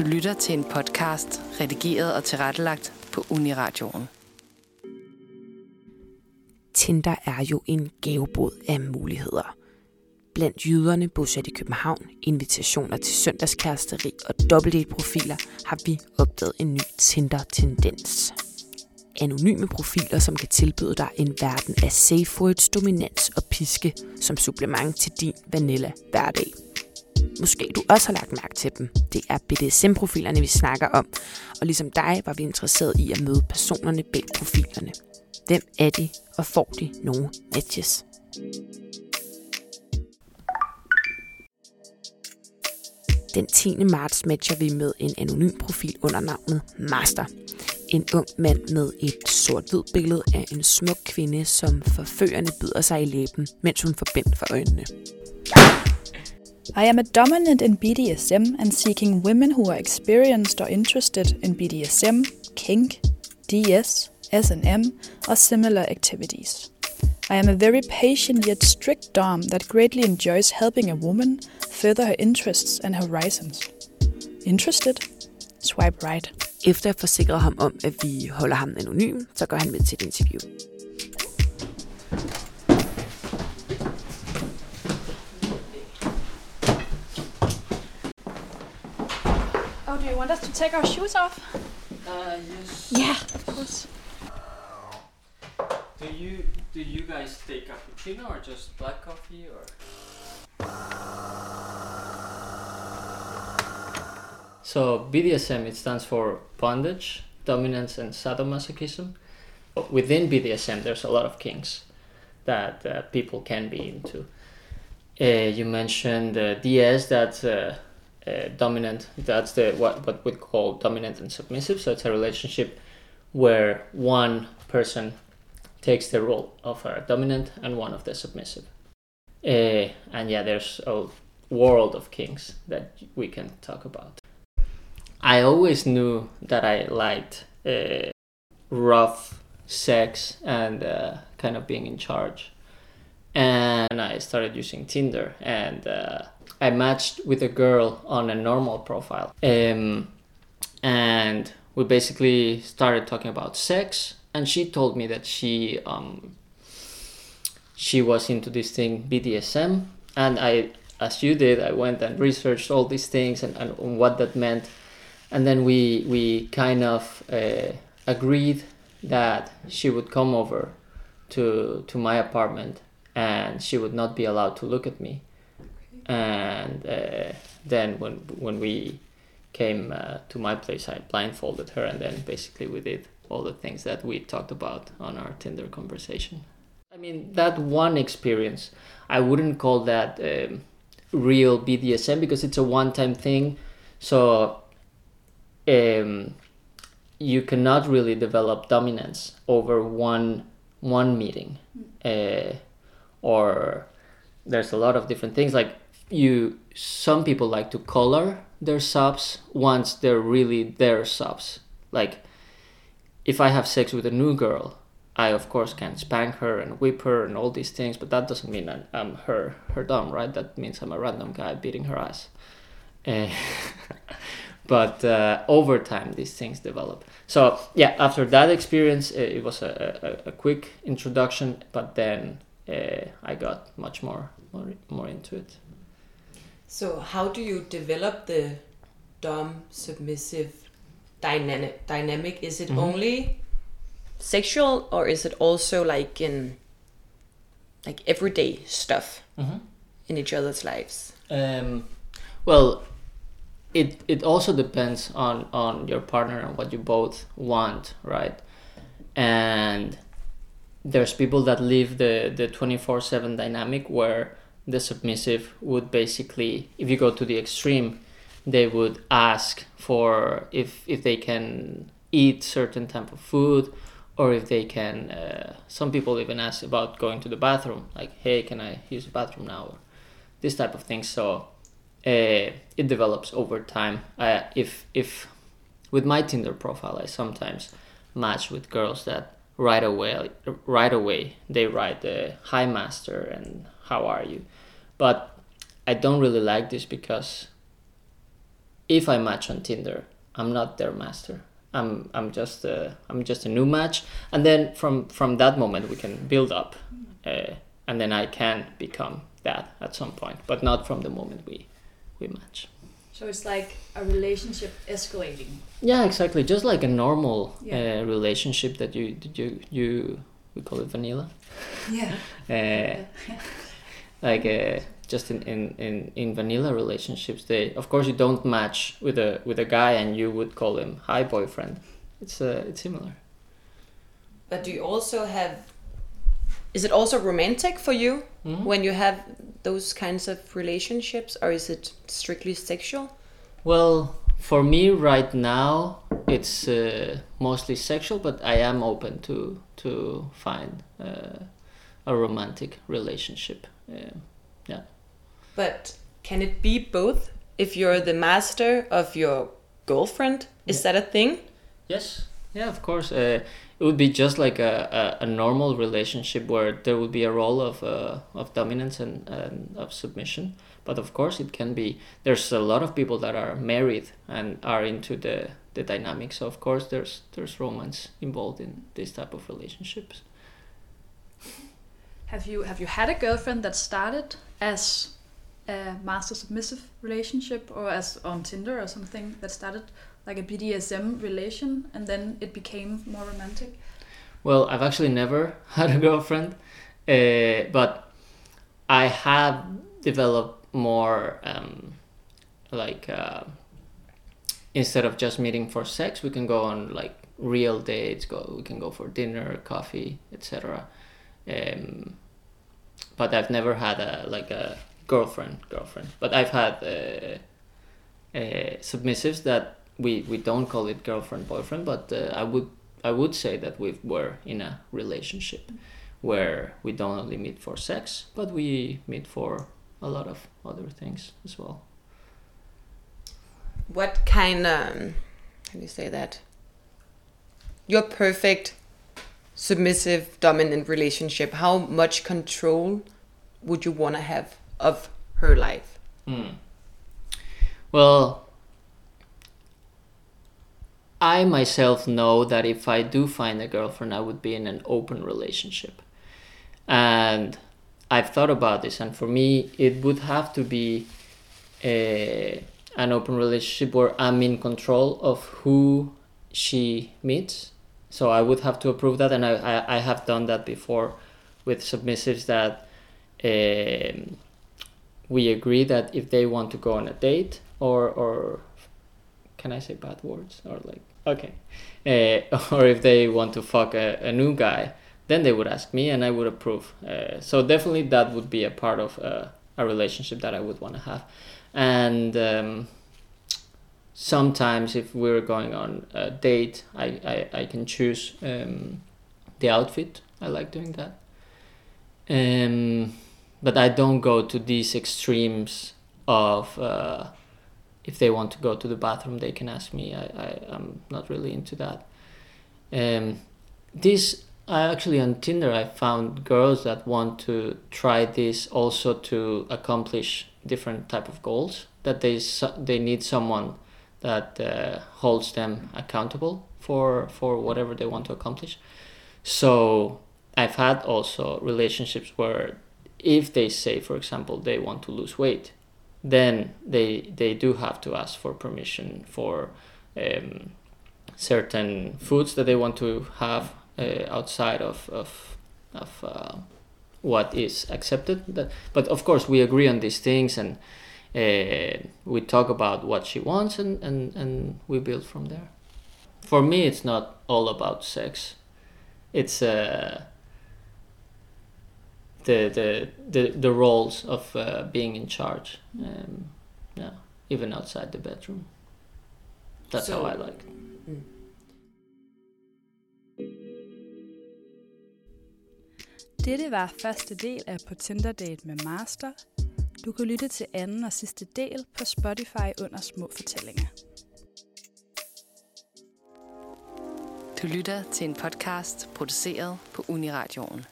Du lytter til en podcast, redigeret og tilrettelagt på Uniradioen. Tinder er jo en gavebod af muligheder. Blandt jyderne bosat i København, invitationer til søndagskæresteri og dobbeltdate-profiler har vi opdaget en ny Tinder-tendens. Anonyme profiler, som kan tilbyde dig en verden af safe words, dominans og piske som supplement til din vanilla hverdag. Måske du også har lagt mærke til dem. Det er BDSM-profilerne, vi snakker om. Og ligesom dig var vi interesseret i at møde personerne bag profilerne. Hvem er de, og får de nogle matches? Den 10. marts matcher vi med en anonym profil under navnet Master. En ung mand med et sort-hvid billede af en smuk kvinde, som forførende bider sig i læben, mens hun får bind for øjnene. I am a dominant in BDSM and seeking women who are experienced or interested in BDSM, kink, DS, S&M, or similar activities. I am a very patient yet strict dom that greatly enjoys helping a woman further her interests and horizons. Interested? Swipe right. Efter at forsikre ham om, at vi holder ham anonym, så går han med til et interview. Oh, do you want us to take our shoes off? Yes. Yeah, of course. Do you guys take cappuccino or just black coffee or? So BDSM, it stands for bondage, dominance, and sadomasochism. Within BDSM, there's a lot of kinks that people can be into. You mentioned DS, that's dominant. That's what we call dominant and submissive. So it's a relationship where one person takes the role of a dominant and one of the submissive. And yeah, there's a world of kinks that we can talk about. I always knew that I liked rough sex and kind of being in charge. And I started using Tinder, and I matched with a girl on a normal profile. And we basically started talking about sex, and she told me that she was into this thing BDSM, and I, as you did, I went and researched all these things and what that meant. And then we kind of agreed that she would come over to my apartment, and she would not be allowed to look at me. And then when we came to my place, I blindfolded her, and then basically we did all the things that we talked about on our Tinder conversation. I mean, that one experience, I wouldn't call that real BDSM because it's a one-time thing. So you cannot really develop dominance over one meeting, or there's a lot of different things. Like some people like to color their subs once they're really their subs. Like if I have sex with a new girl, I of course can spank her and whip her and all these things, but that doesn't mean I'm her dom, right? That means I'm a random guy beating her ass. But over time, these things develop. So yeah, after that experience, it was a quick introduction, but then I got much more into it. So how do you develop the dom submissive dynamic? Is it only sexual, or is it also like in like everyday stuff in each other's lives? Well, it also depends on your partner and what you both want, right? And there's people that live the 24/7 dynamic where the submissive would basically, if you go to the extreme, they would ask for if they can eat certain type of food, or if they can, some people even ask about going to the bathroom, like, hey, can I use the bathroom now? Or this type of thing. So it develops over time. If with my Tinder profile, I sometimes match with girls that right away they write hi master and how are you. But I don't really like this because if I match on Tinder, I'm not their master. I'm just a new match, and then from that moment we can build up, and then I can become that at some point, but not from the moment we match. So it's like a relationship escalating. Yeah, exactly. Just like a normal relationship that you we call it vanilla. Yeah. Just in vanilla relationships, of course you don't match with a guy and you would call him hi boyfriend. It's similar. But do you also have? Is it also romantic for you when you have those kinds of relationships, or is it strictly sexual? Well, for me right now, it's mostly sexual, but I am open to find a romantic relationship. Yeah. But can it be both? If you're the master of your girlfriend, is that a thing? Yes. Yeah, of course. It would be just like a normal relationship where there would be a role of dominance and of submission. But of course it can be, there's a lot of people that are married and are into the dynamics. So of course there's romance involved in this type of relationships. Have you had a girlfriend that started as a master submissive relationship, or as on Tinder or something that started like a BDSM relation and then it became more romantic? Well, I've actually never had a girlfriend, but I have developed more instead of just meeting for sex, we can go on like real dates. We can go for dinner, coffee, etc. But I've never had a girlfriend. But I've had submissives that we don't call it girlfriend boyfriend, but I would say that we were in a relationship where we don't only meet for sex, but we meet for a lot of other things as well. What kind how do you say that? Your perfect submissive dominant relationship, how much control would you want to have of her life? Well, I myself know that if I do find a girlfriend, I would be in an open relationship. And I've thought about this, and for me, it would have to be an open relationship where I'm in control of who she meets. So I would have to approve that, and I have done that before with submissives that we agree that if they want to go on a date or can I say bad words? Or like, okay. Or if they want to fuck a new guy, then they would ask me and I would approve. So definitely that would be a part of a relationship that I would want to have. And sometimes if we're going on a date, I can choose the outfit. I like doing that. But I don't go to these extremes of if they want to go to the bathroom, they can ask me. I'm not really into that. Actually on Tinder, I found girls that want to try this also to accomplish different type of goals, that they need someone that holds them accountable for whatever they want to accomplish. So I've had also relationships where if they say, for example, they want to lose weight, then they do have to ask for permission for certain foods that they want to have outside of what is accepted. But of course we agree on these things, and we talk about what she wants, and we build from there. For me, it's not all about sex. It's the roles of being in charge, even outside the bedroom. That's how I like it. Dette var første del af På Tinder Date med Master. Du kan lytte til anden og sidste del på Spotify under Små Fortællinger. Du lytter til en podcast produceret på Uniradioen.